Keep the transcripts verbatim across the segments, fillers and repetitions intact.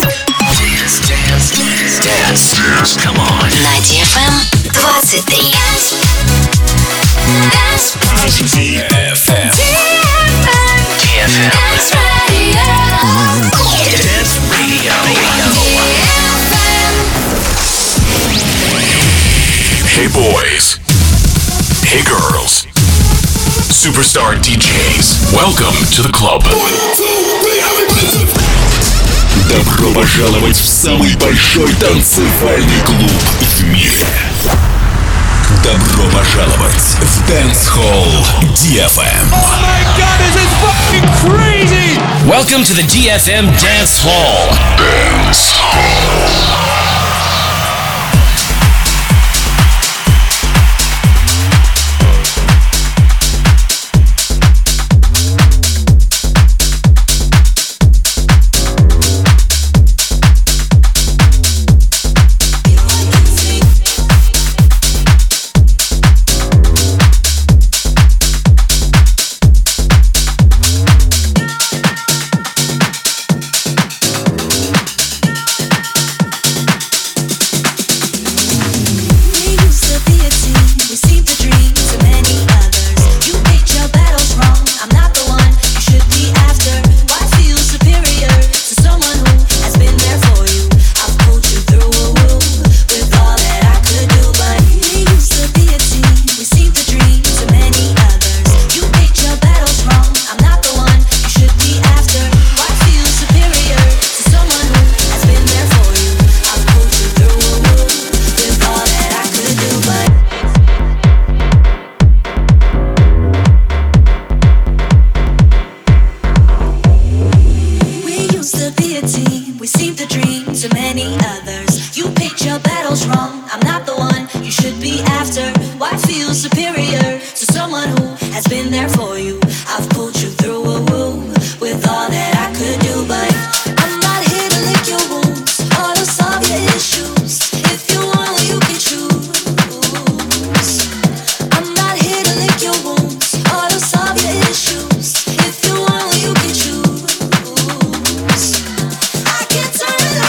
Dance, dance, dance, dance, dance. Come on. На ди эф эм двадцать три. ди эф эм. ди эф эм. Dance Radio. Dance Radio. Hey boys. Hey girls. Superstar ди джейс. Welcome to the club. Добро пожаловать в самый большой танцевальный клуб в мире. Добро пожаловать в Dance Hall ди эф эм. Oh my god, this is fucking crazy! Welcome to the ди эф эм Dance Hall. Dance Hall. Turn it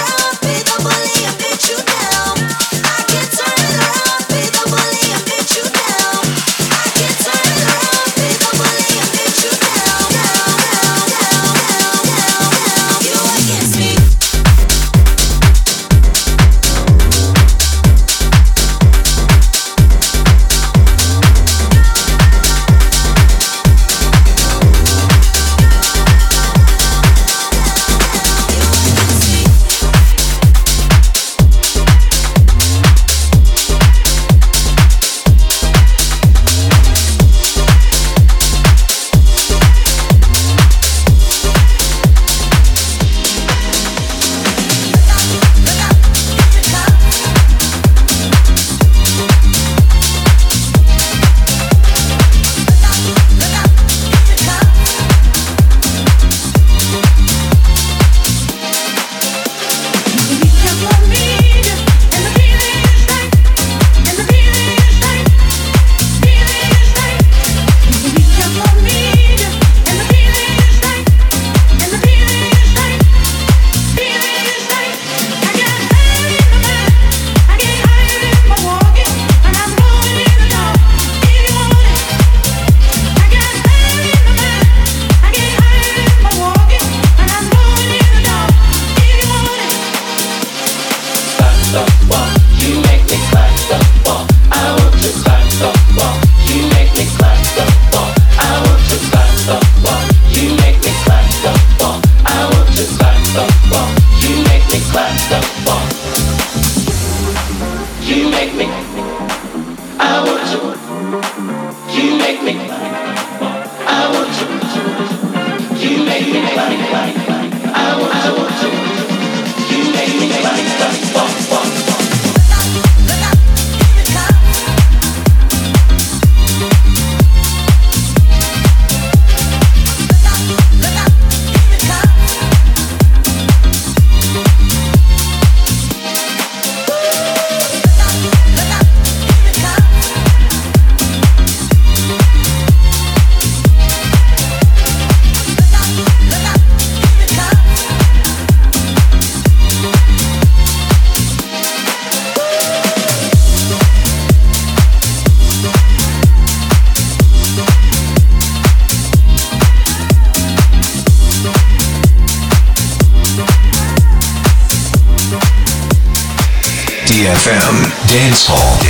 ди эф эм Dance Hall.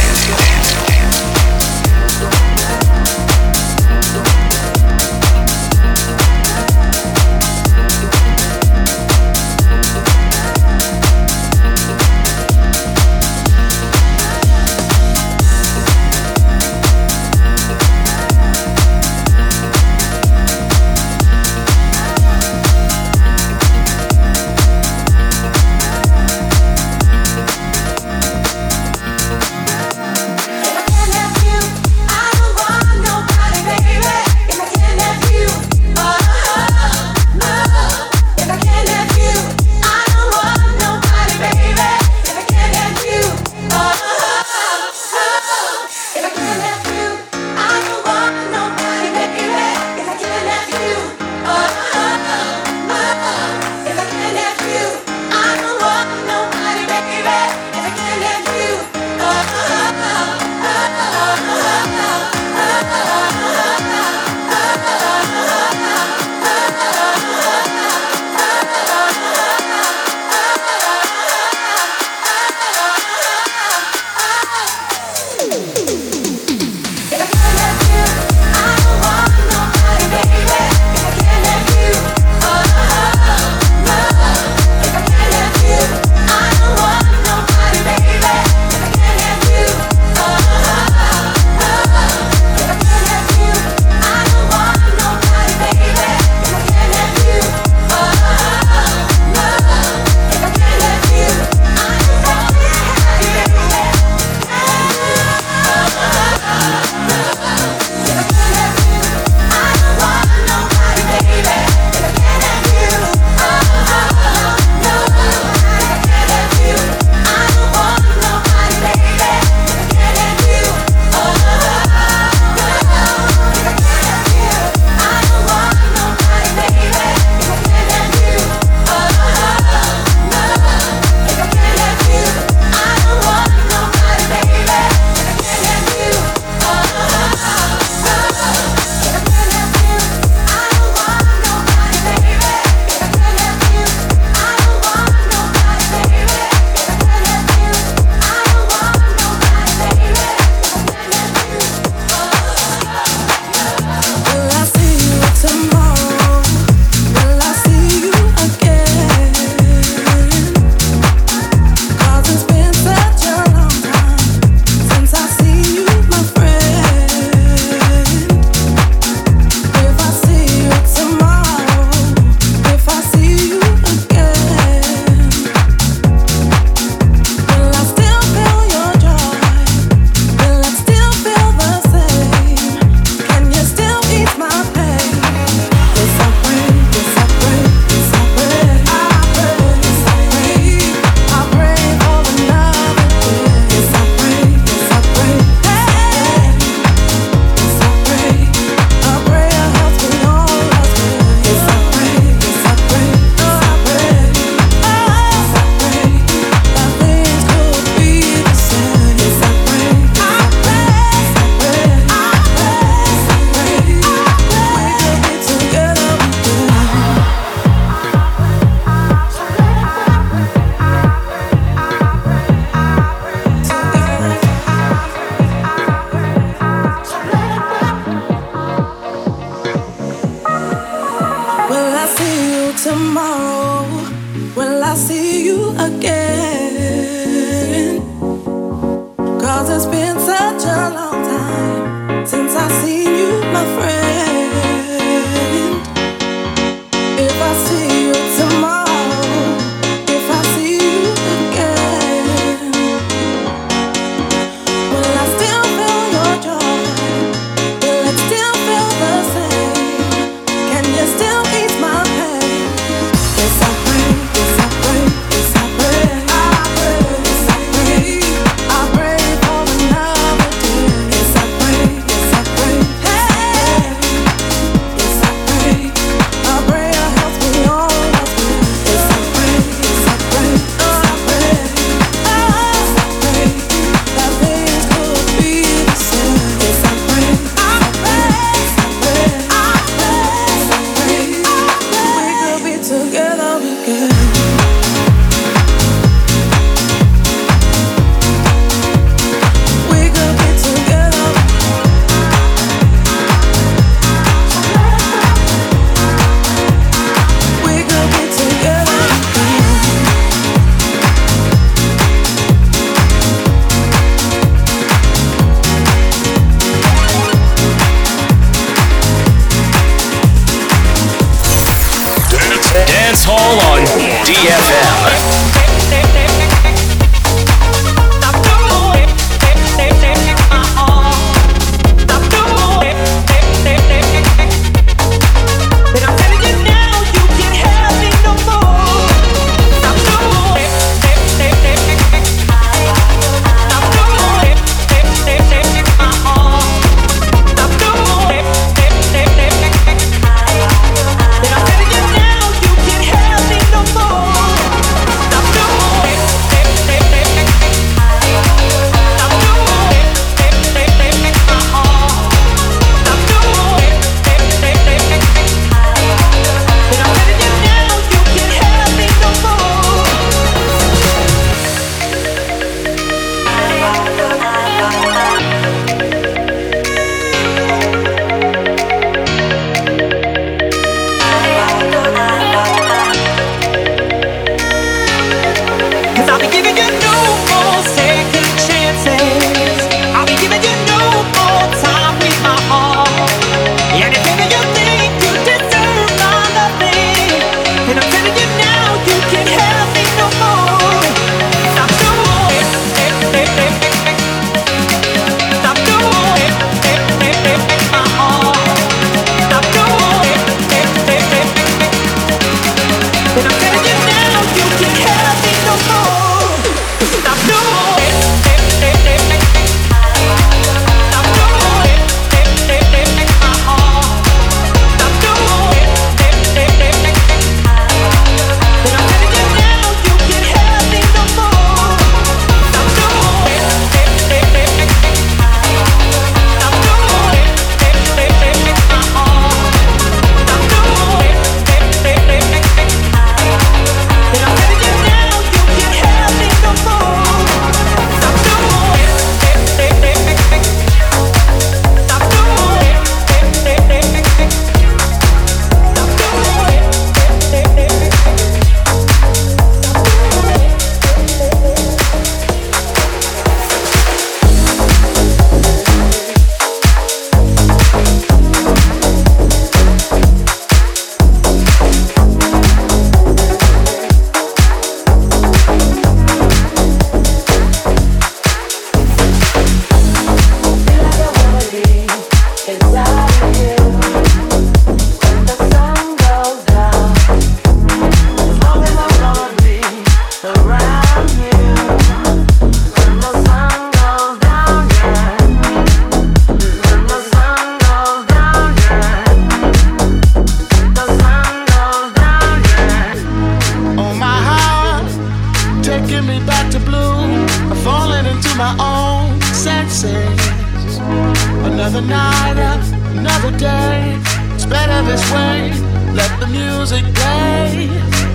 Another night, another day. It's better this way. Let the music play.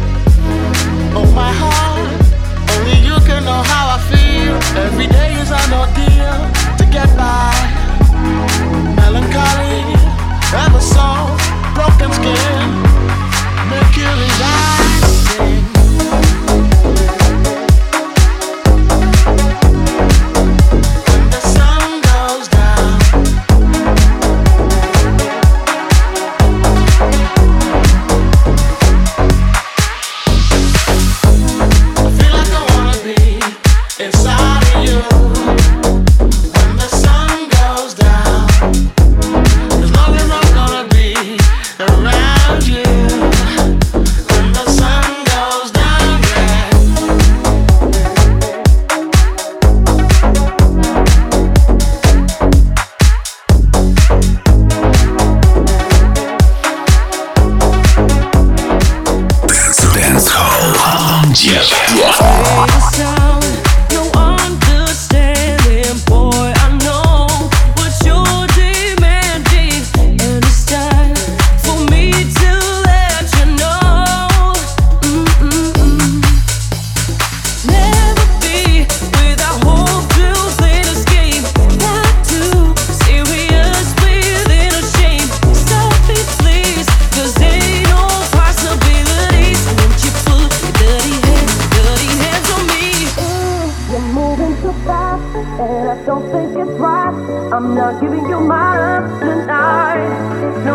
Oh my heart, only you can know how I feel. Every day is an ordeal to get by. Melancholy, ever so broken skin. Mercury rising.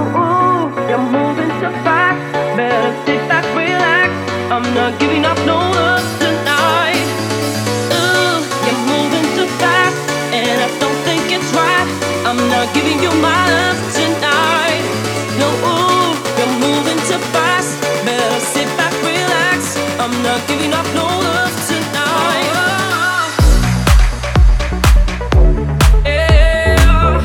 I'm not giving up, no. no love tonight. Yeah.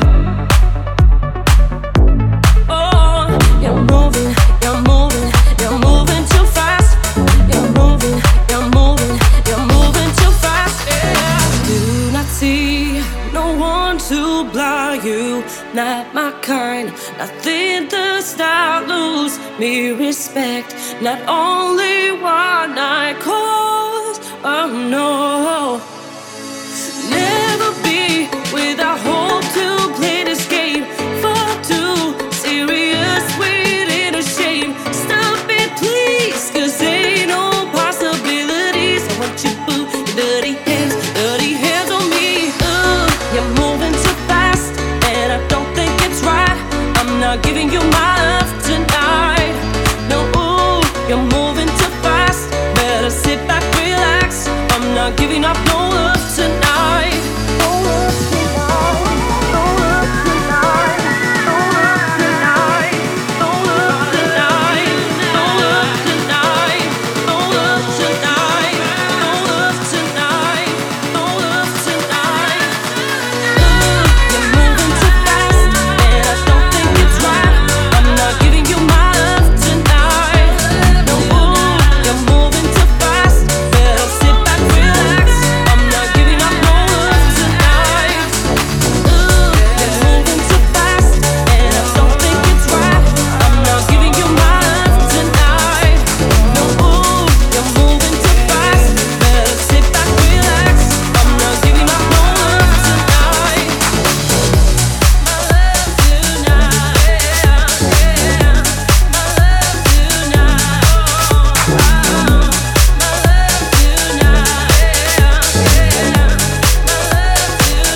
Oh, you're moving, you're moving, you're moving too fast. You're moving, you're moving, you're moving too fast. Yeah. Do not see, no one to blind you. Not my kind, nothing does not lose me respect. Not only one night calls, oh no. Never be without hope to play this game. Far too serious, waiting a shame. Stop it please, cause ain't no possibilities. I want you boo, your dirty hands, dirty hands on me. uh, You're moving too fast, and I don't think it's right. I'm not giving you my love tonight. No, ooh, you're moving too fast. Better sit back, relax. I'm not giving up no love tonight. No love tonight. No love tonight. No love tonight. No love tonight. No love tonight. No love tonight. No love tonight. No love tonight. Uh, you're moving too fast, and I don't think it's right. I'm not giving you my love tonight. No, ooh, you're moving too fast. Better sit back, relax. I'm not giving up no love tonight. Uh, you're moving too fast, and I don't think it's right. I'm not giving you my love tonight. No, ooh, you're moving too fast. Better sit back, relax. I'm not giving up no love tonight. My love tonight, yeah, yeah. My love tonight, oh, my love tonight, yeah, yeah. My love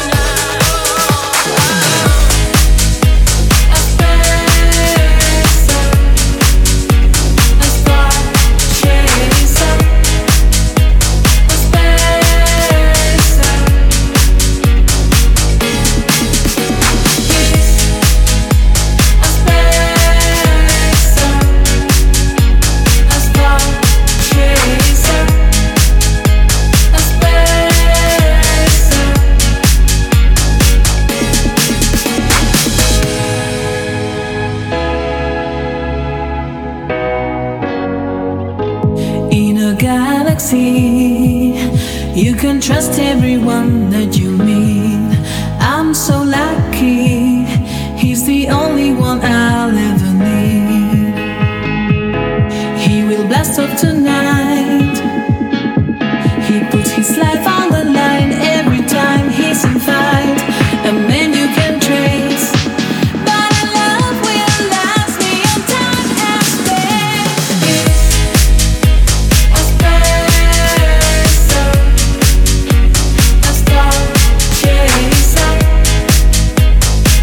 In a galaxy, you can trust everyone that you meet. I'm so lucky, he's the only one I'll ever need. He will blast off tonight. He puts his life on the line every time he's in fight. A man you can trace, but a love will last beyond time and space. A spacer, a star chaser,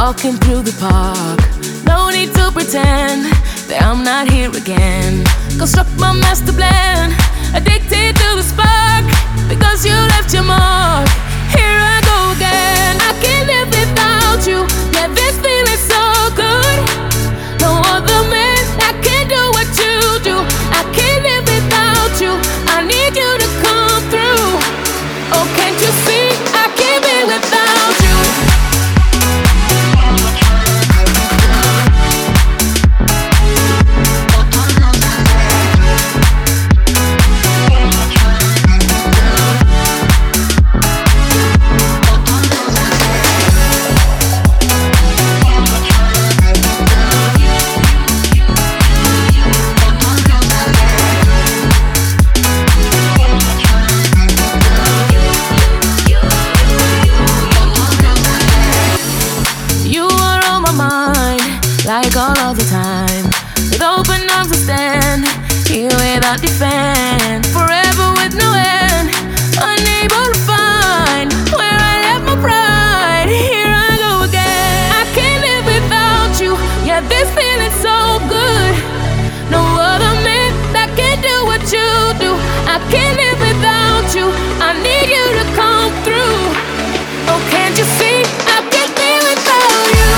walking through the park. No need to pretend that I'm not here again. Construct my master plan, addicted to the spark. Because you left your mark, here I go again. I can't live without you, yeah, this feeling's so good. No other man that can do what you do. I can't live without you, I need you to come through. Oh, can't you see, I can't be without you. Like all of the time, with open arms I stand here without defense, forever with no end, unable to find where I left my pride. Here I go again. I can't live without you, yeah, this feeling's so good. No other man that can do what you do. I can't live without you, I need you to come through. Oh, can't you see, I can't be without you.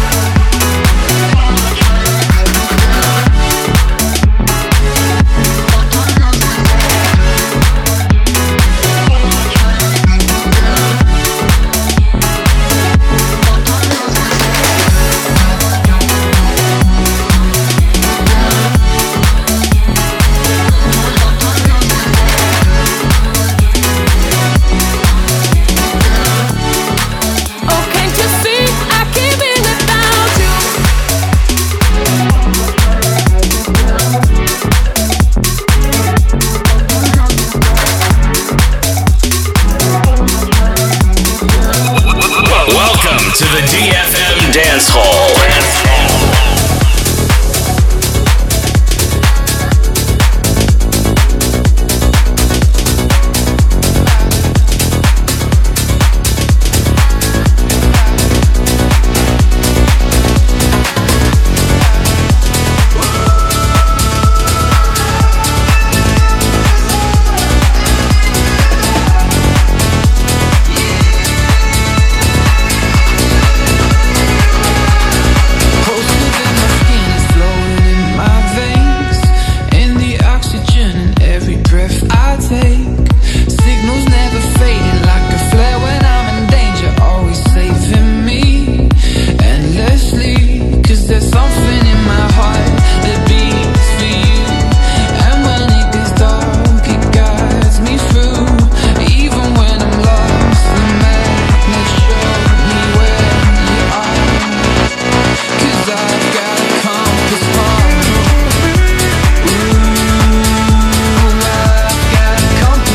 To the D F M Dance Hall. Compass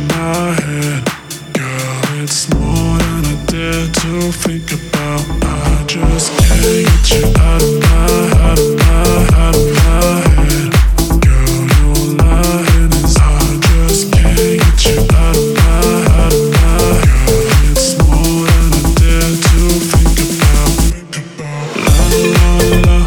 my head. Girl, it's more than I dare to think about. I just can't get you out of my, out of my, out of my head. Girl, you're lying, is I just can't get you out of my, out of my. Girl, it's more than I dare to think about. La la la.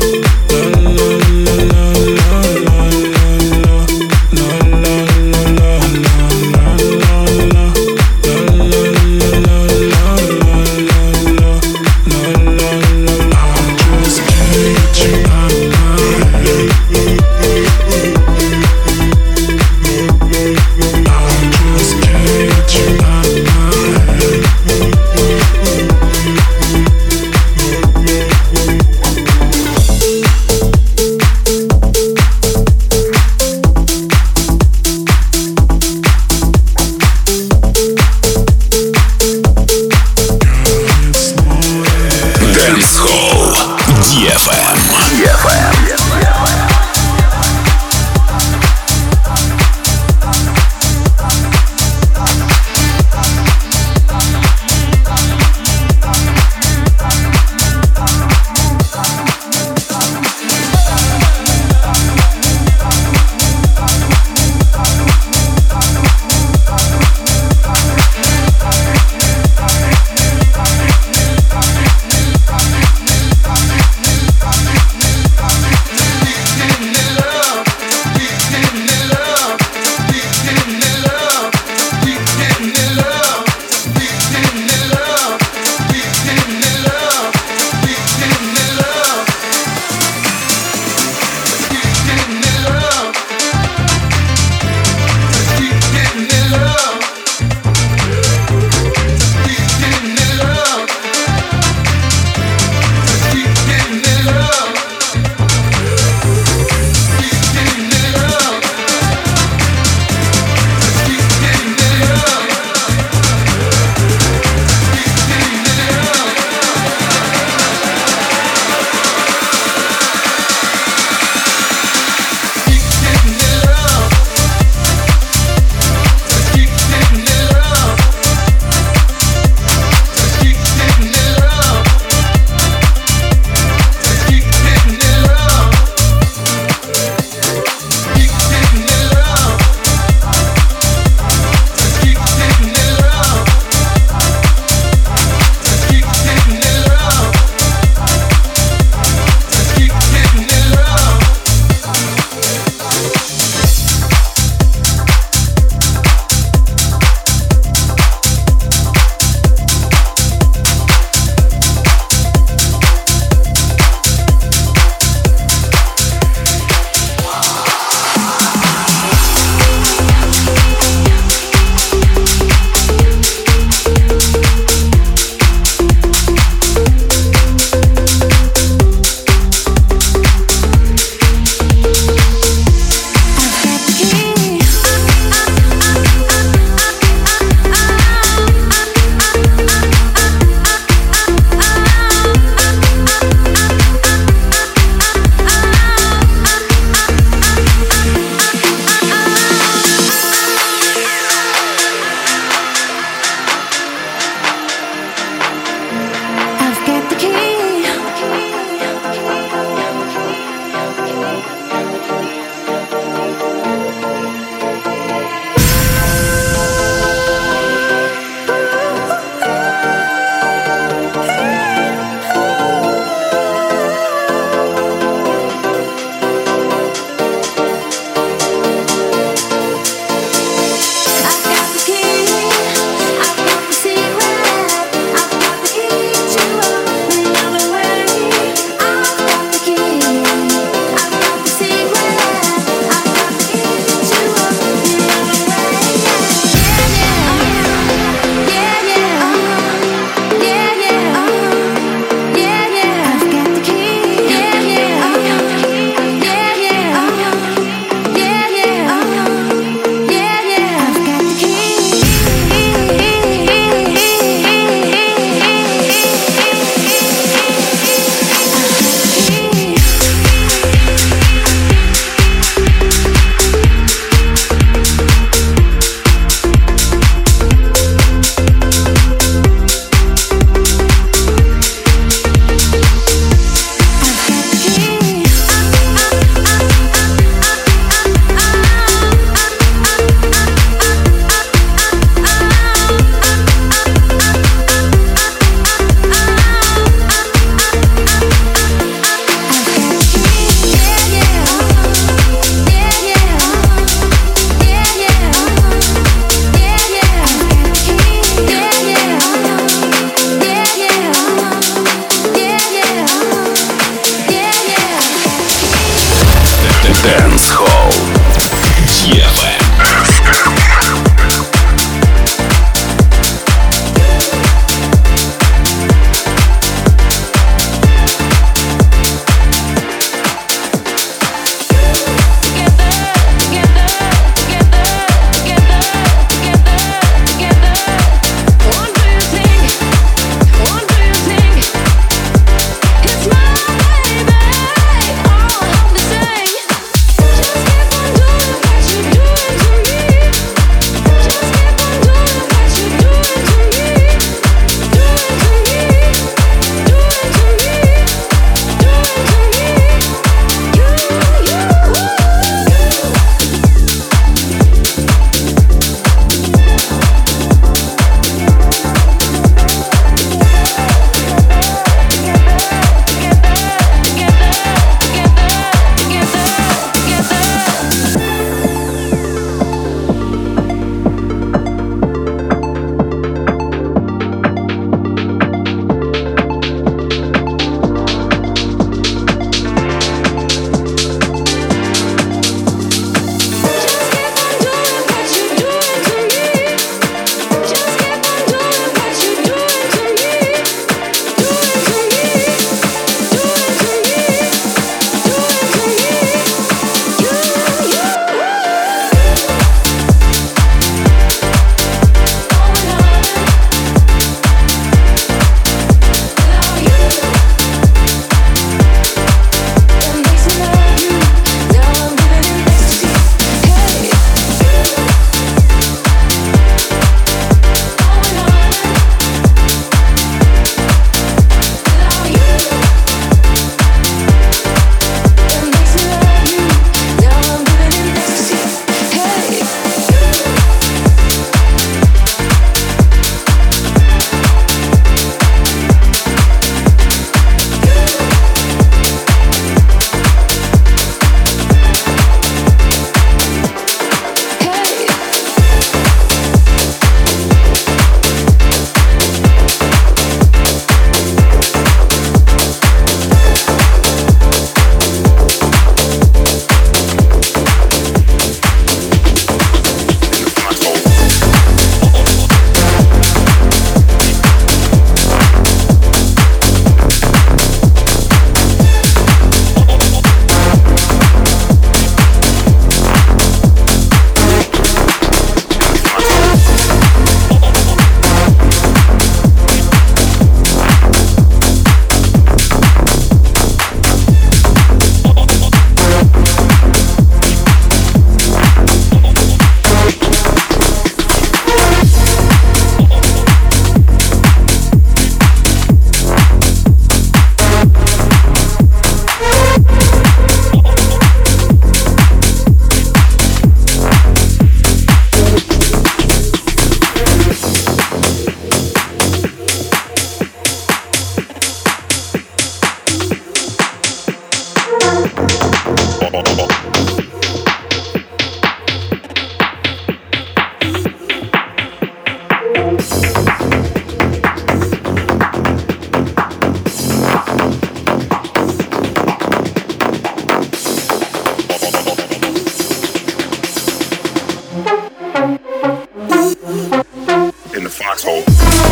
Foxhole.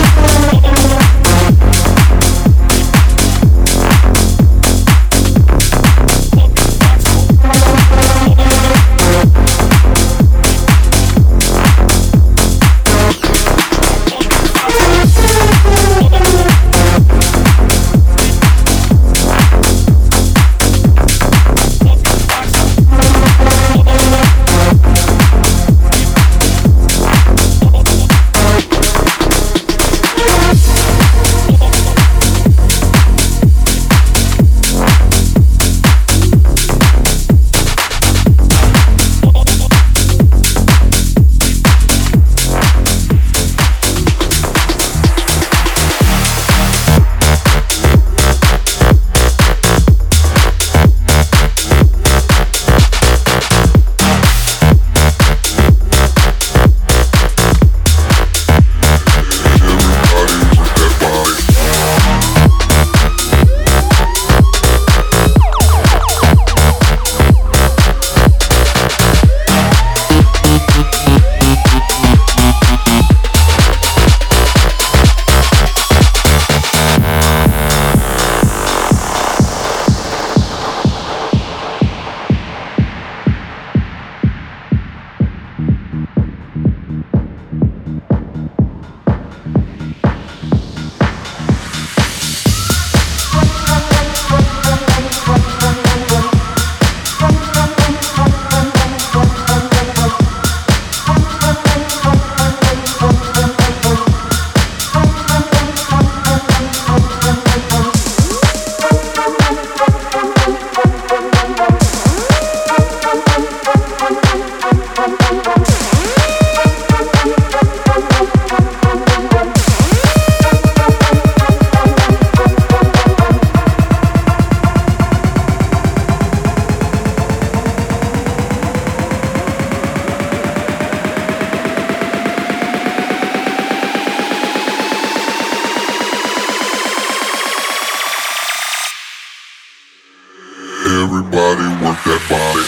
Everybody work that body.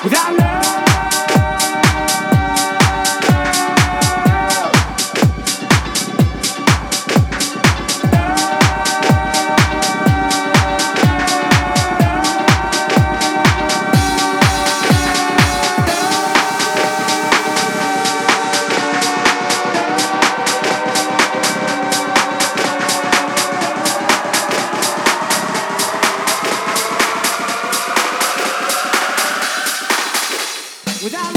Without